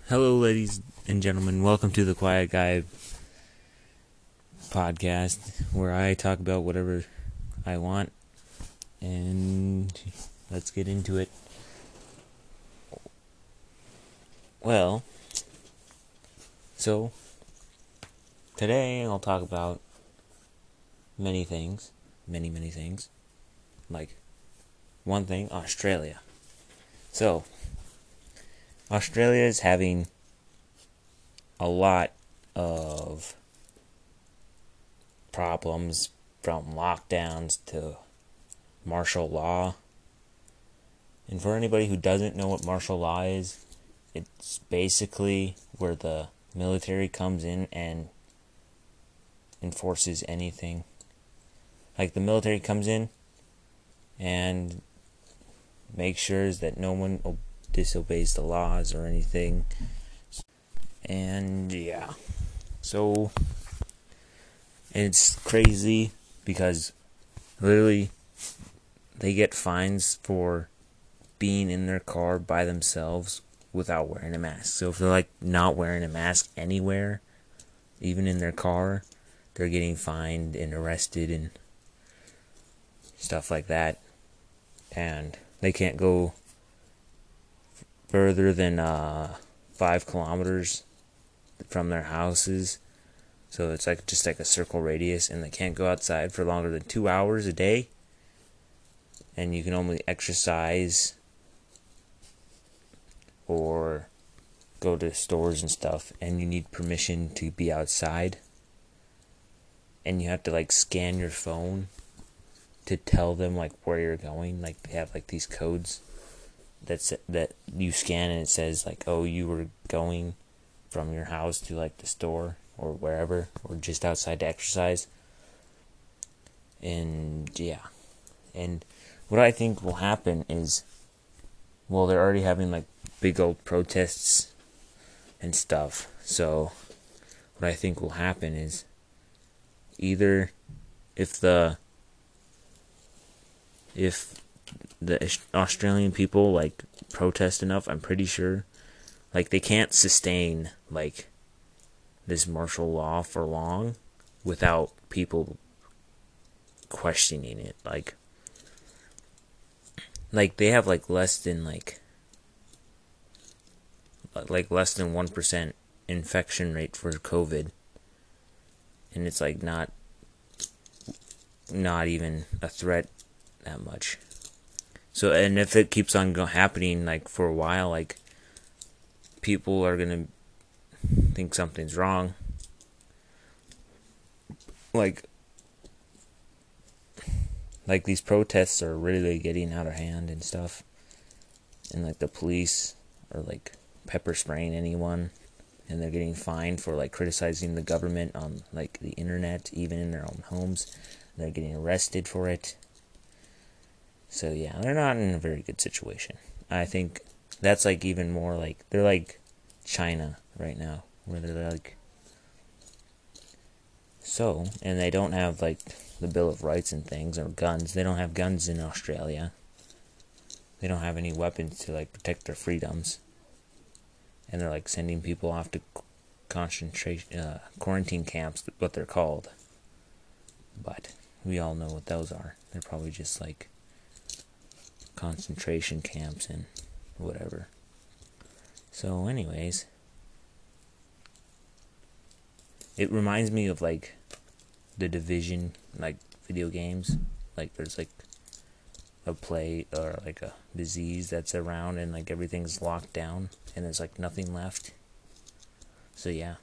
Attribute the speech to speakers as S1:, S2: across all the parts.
S1: Hello, ladies and gentlemen. Welcome to the Quiet Guy podcast, where I talk about whatever I want. And let's get into it. Well, so today I'll talk about many things. Many things. Like, one thing, Australia. So, Australia is having a lot of problems, from lockdowns to martial law. And for anybody who doesn't know what martial law is, it's basically where the military comes in and enforces anything. Like, the military comes in and makes sure that no one disobeys the laws or anything. And yeah, so it's crazy because literally they get fines for being in their car by themselves without wearing a mask. So if they're like not wearing a mask anywhere, even in their car, they're getting fined and arrested and stuff like that. And they can't go further than 5 kilometers from their houses. So it's like just like a circle radius, and they can't go outside for longer than 2 hours a day. And you can only exercise or go to stores and stuff, and you need permission to be outside. And you have to like scan your phone to tell them like where you're going. Like, they have like these codes that you scan, and it says like, oh, you were going from your house to like the store or wherever, or just outside to exercise. And yeah, and what I think will happen is, well, they're already having like big old protests and stuff. So what I think will happen is, either if the Australian people like protest enough, I'm pretty sure like they can't sustain like this martial law for long without people questioning it. Like they have like less than 1% infection rate for COVID, and it's like not even a threat that much. So, and if it keeps on happening like for a while, like, people are gonna think something's wrong. Like these protests are really getting out of hand and stuff, and like the police are like pepper spraying anyone, and they're getting fined for like criticizing the government on like the internet, even in their own homes. They're getting arrested for it. So yeah, they're not in a very good situation. I think that's like even more like, they're like China right now, where they're like, so, and they don't have like the Bill of Rights and things, or guns. They don't have guns in Australia. They don't have any weapons to like protect their freedoms. And they're like sending people off to quarantine camps, what they're called. But we all know what those are. They're probably just like concentration camps and whatever. So anyways, it reminds me of like The Division, like video games. Like, there's like a plague or like a disease that's around, and like everything's locked down and there's like nothing left. So yeah.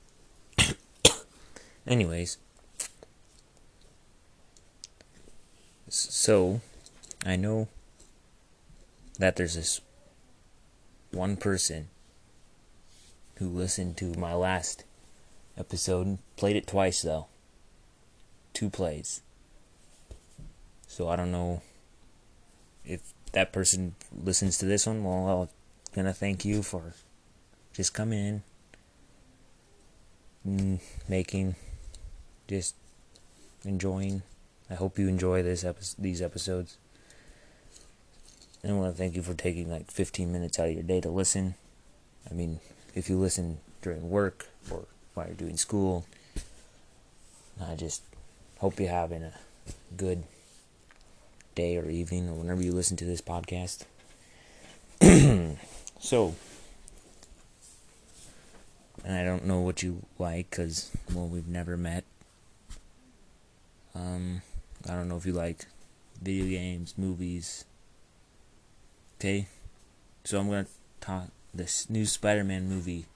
S1: Anyways, so I know that there's this one person who listened to my last episode and played it twice, though. 2 plays. So I don't know if that person listens to this one. Well, I'm gonna thank you for just coming in, just enjoying. I hope you enjoy these episodes. And I want to thank you for taking like 15 minutes out of your day to listen. I mean, if you listen during work or while you're doing school. I just hope you're having a good day or evening or whenever you listen to this podcast. So, and I don't know what you like because, well, we've never met. I don't know if you like video games, movies. Okay? So I'm going to talk this new Spider-Man movie.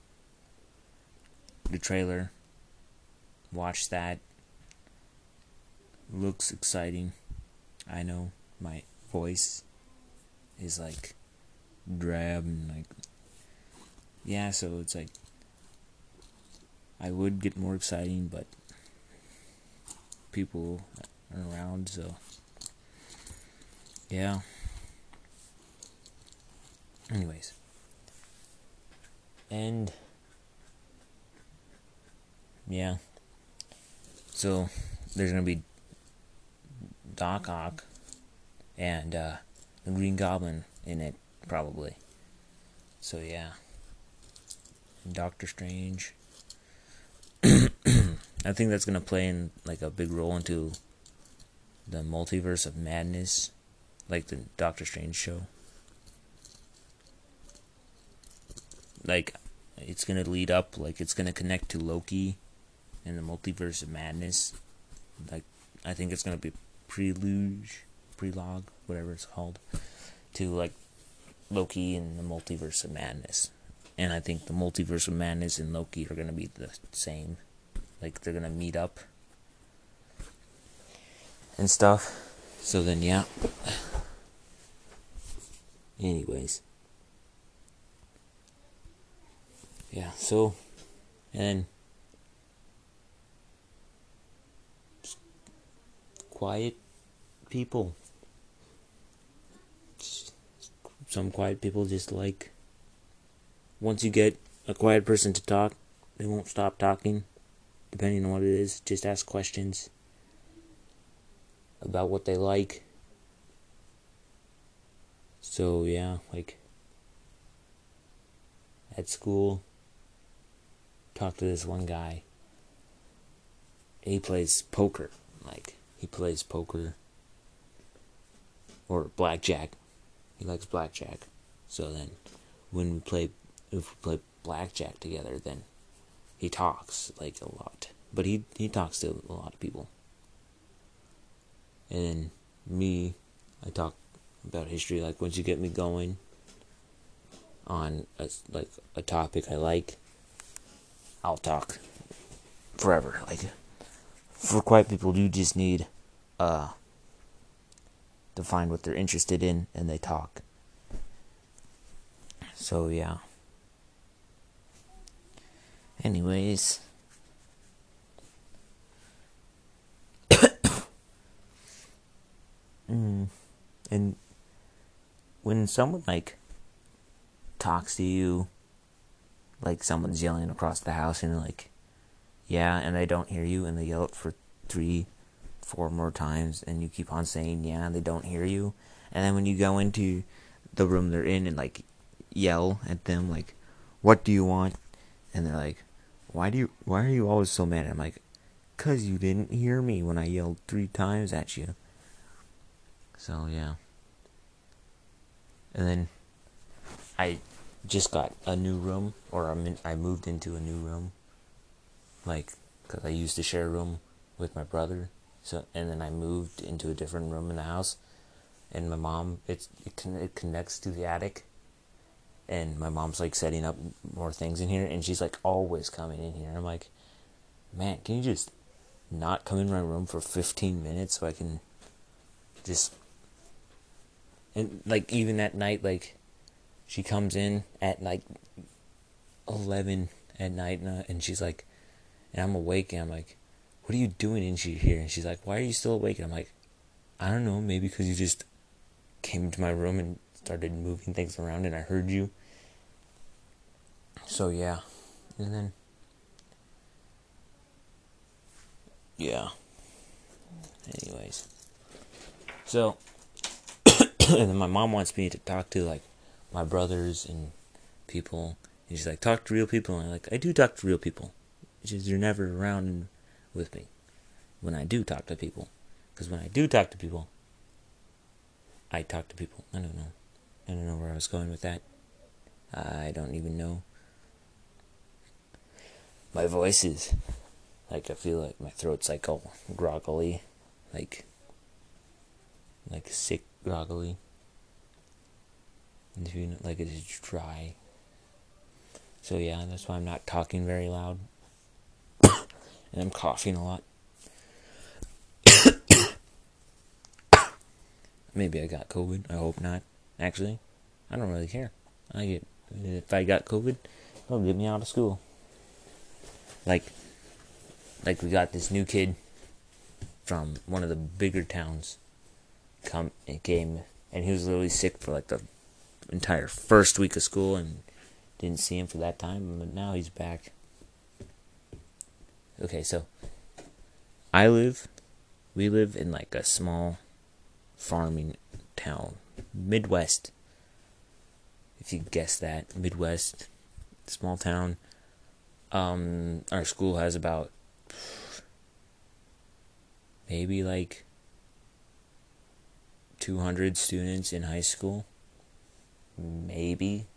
S1: The trailer. Watch that. Looks exciting. I know my voice is like drab and like, yeah, so it's like I would get more exciting, but people aren't around, so yeah. Anyways, and yeah, so there's gonna be Doc Ock and the Green Goblin in it, probably. So yeah, and Doctor Strange. I think that's gonna play in like a big role into the multiverse of madness, like the Doctor Strange show. Like, it's gonna lead up, like it's gonna connect to Loki and the multiverse of madness. Like, I think it's gonna be prelogue, whatever it's called, to like Loki and the multiverse of madness. And I think the multiverse of madness and Loki are gonna be the same. Like, they're gonna meet up and stuff. So then, yeah. Anyways. Yeah, so, and just quiet people. Some quiet people just like, once you get a quiet person to talk, they won't stop talking. Depending on what it is, just ask questions about what they like. So yeah, like at school, talked to this one guy. He plays poker. Like, he plays poker or blackjack. He likes blackjack. So then if we play blackjack together, then he talks like a lot. But he talks to a lot of people. And then me, I talk about history. Like, once you get me going on a topic I like, I'll talk forever. Like, for quiet people, you just need to find what they're interested in and they talk. So yeah. Anyways, and when someone like talks to you, like someone's yelling across the house and like, yeah, and they don't hear you, and they yell it for 3-4 more times, and you keep on saying yeah, and they don't hear you, and then when you go into the room they're in and like yell at them like, what do you want? And they're like, why are you always so mad? I'm like, 'cause you didn't hear me when I yelled 3 times at you. So yeah. And then I just got a new room, or I moved into a new room, like, because I used to share a room with my brother, so, and then I moved into a different room in the house, and my mom, it connects to the attic, and my mom's like setting up more things in here, and she's like always coming in here. I'm like, man, can you just not come in my room for 15 minutes so I can just, and like even at night, like she comes in at like 11 at night, and she's like, and I'm awake, and I'm like, what are you doing in here? And she's like, why are you still awake? And I'm like, I don't know, maybe because you just came into my room and started moving things around and I heard you. So yeah. And then, yeah. Anyways. So, and then my mom wants me to talk to like my brothers and people, He's like, talk to real people. And I'm like, I do talk to real people. It's just you're never around with me when I do talk to people. Because when I do talk to people, I talk to people. I don't know. I don't know where I was going with that. I don't even know. My voice is like, I feel like my throat's like all groggly. Like sick groggly. Like it is dry. So yeah, that's why I'm not talking very loud. And I'm coughing a lot. Maybe I got COVID. I hope not. Actually, I don't really care. If I got COVID, they'll get me out of school. Like we got this new kid from one of the bigger towns came, and he was literally sick for like the entire first week of school, and didn't see him for that time, but now he's back. Okay, so we live in like a small farming town, Midwest. If you guess that, Midwest, small town. Our school has about maybe like 200 students in high school. Maybe.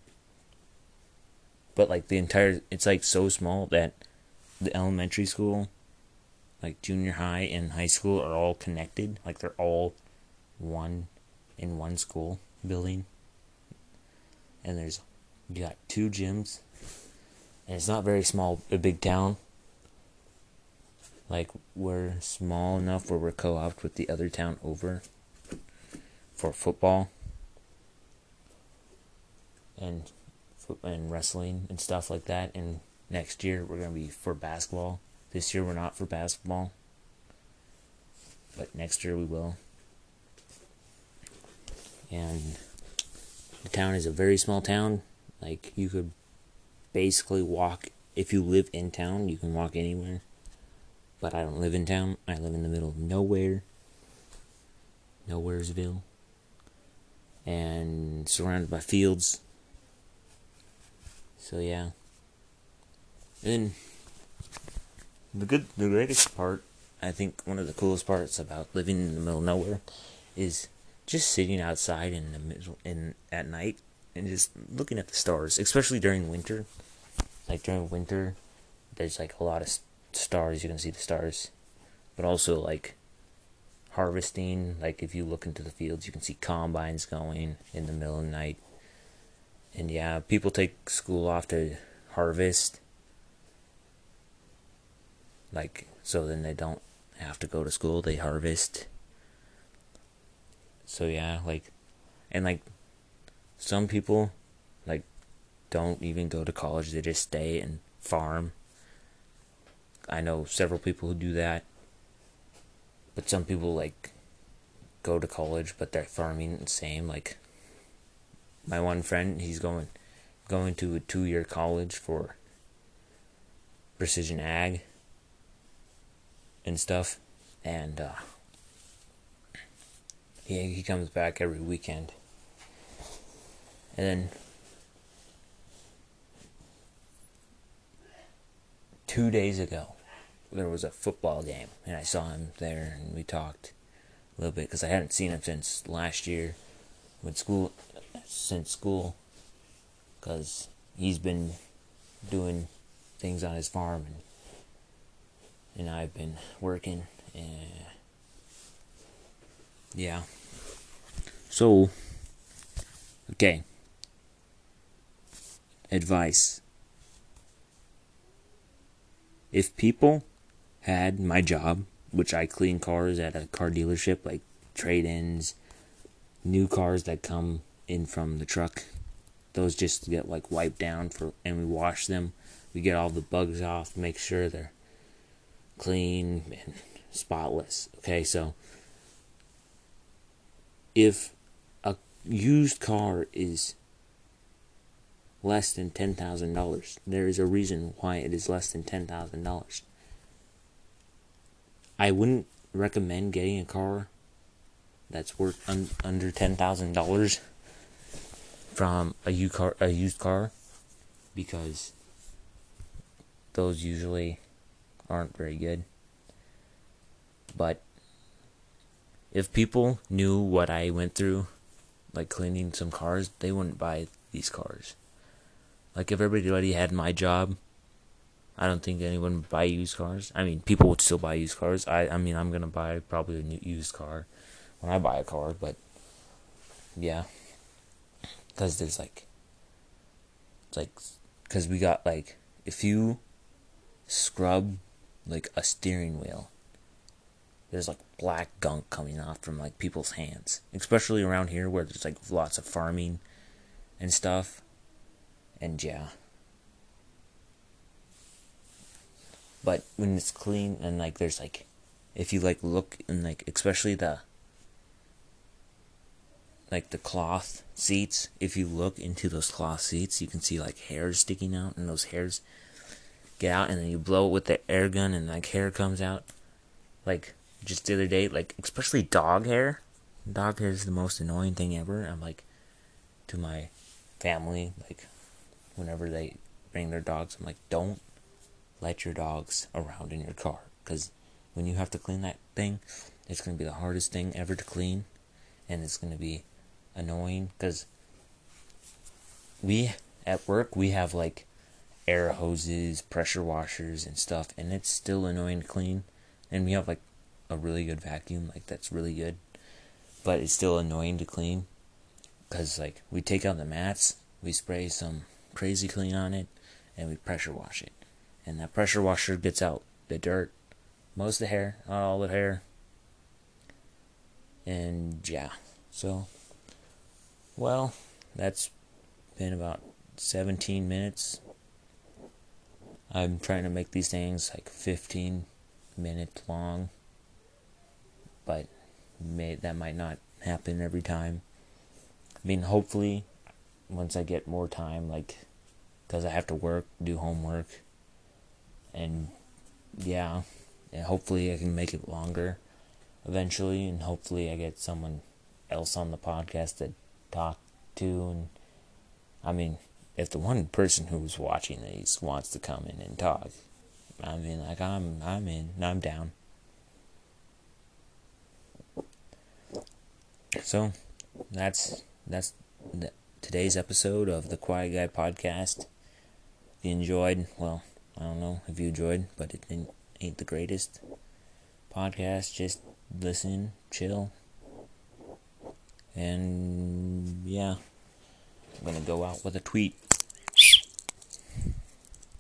S1: But like it's like so small that the elementary school, like junior high and high school are all connected. Like they're all one in one school building. And you got 2 gyms. And it's not very small, a big town. Like, we're small enough where we're co-opted with the other town over for football and wrestling and stuff like that. And next year we're going to be for basketball. This year we're not for basketball, but next year we will. And the town is a very small town. Like, you could basically walk. If you live in town, you can walk anywhere. But I don't live in town. I live in the middle of nowhere. Nowheresville. And surrounded by fields. So yeah. And the greatest part, I think one of the coolest parts about living in the middle of nowhere is just sitting outside in the middle at night and just looking at the stars, especially during winter. Like during winter, there's like a lot of stars. You can see the stars, but also like harvesting. Like if you look into the fields, you can see combines going in the middle of the night. And yeah, people take school off to harvest, like so then they don't have to go to school. They harvest. So yeah, like, and like some people like don't even go to college. They just stay and farm. I know several people who do that. But some people like go to college, but they're farming the same. Like my one friend, he's going to a 2-year college for precision ag and stuff, and he comes back every weekend, and then 2 days ago there was a football game, and I saw him there, and we talked a little bit because I hadn't seen him since last year, since school, because he's been doing things on his farm, and I've been working, and yeah. So, okay. Advice. If people had my job, which I clean cars at a car dealership, like trade-ins, new cars that come in from the truck, those just get like wiped down and we wash them. We get all the bugs off, make sure they're clean and spotless. Okay, so if a used car is less than $10,000, there is a reason why it is less than $10,000. I wouldn't recommend getting a car that's worth under $10,000 from a used car, because those usually aren't very good. But if people knew what I went through, like cleaning some cars, they wouldn't buy these cars. Like if everybody had my job, I don't think anyone would buy used cars. I mean, people would still buy used cars. I mean, I'm gonna buy probably a new used car when I buy a car, but yeah, because there's because we got like, if you scrub like a steering wheel, there's like black gunk coming off from like people's hands, especially around here where there's like lots of farming and stuff, and yeah. But when it's clean and like there's like, if you like look and like, especially the cloth seats, if you look into those cloth seats, you can see like hairs sticking out, and those hairs get out, and then you blow it with the air gun, and like hair comes out. Like just the other day, like especially dog hair. Dog hair is the most annoying thing ever. I'm like, to my family, like whenever they bring their dogs, I'm like, don't let your dogs around in your car, because when you have to clean that thing, it's going to be the hardest thing ever to clean, and it's going to be annoying, because at work we have like air hoses, pressure washers and stuff, and it's still annoying to clean, and we have like a really good vacuum, like that's really good, but it's still annoying to clean, because like we take out the mats, we spray some crazy clean on it, and we pressure wash it. And that pressure washer gets out the dirt, most of the hair, not all the hair. And yeah, so, well, that's been about 17 minutes. I'm trying to make these things like 15 minutes long, but that might not happen every time. I mean, hopefully, once I get more time, like, because I have to work, do homework, and yeah, and hopefully I can make it longer eventually, and hopefully I get someone else on the podcast to talk to. And I mean, if the one person who's watching these wants to come in and talk, I mean, like, I'm in, I'm down. So that's today's episode of the Quiet Guy podcast. If you enjoyed, well, I don't know if you enjoyed, but it ain't the greatest podcast. Just listen, chill, and yeah, I'm gonna go out with a tweet.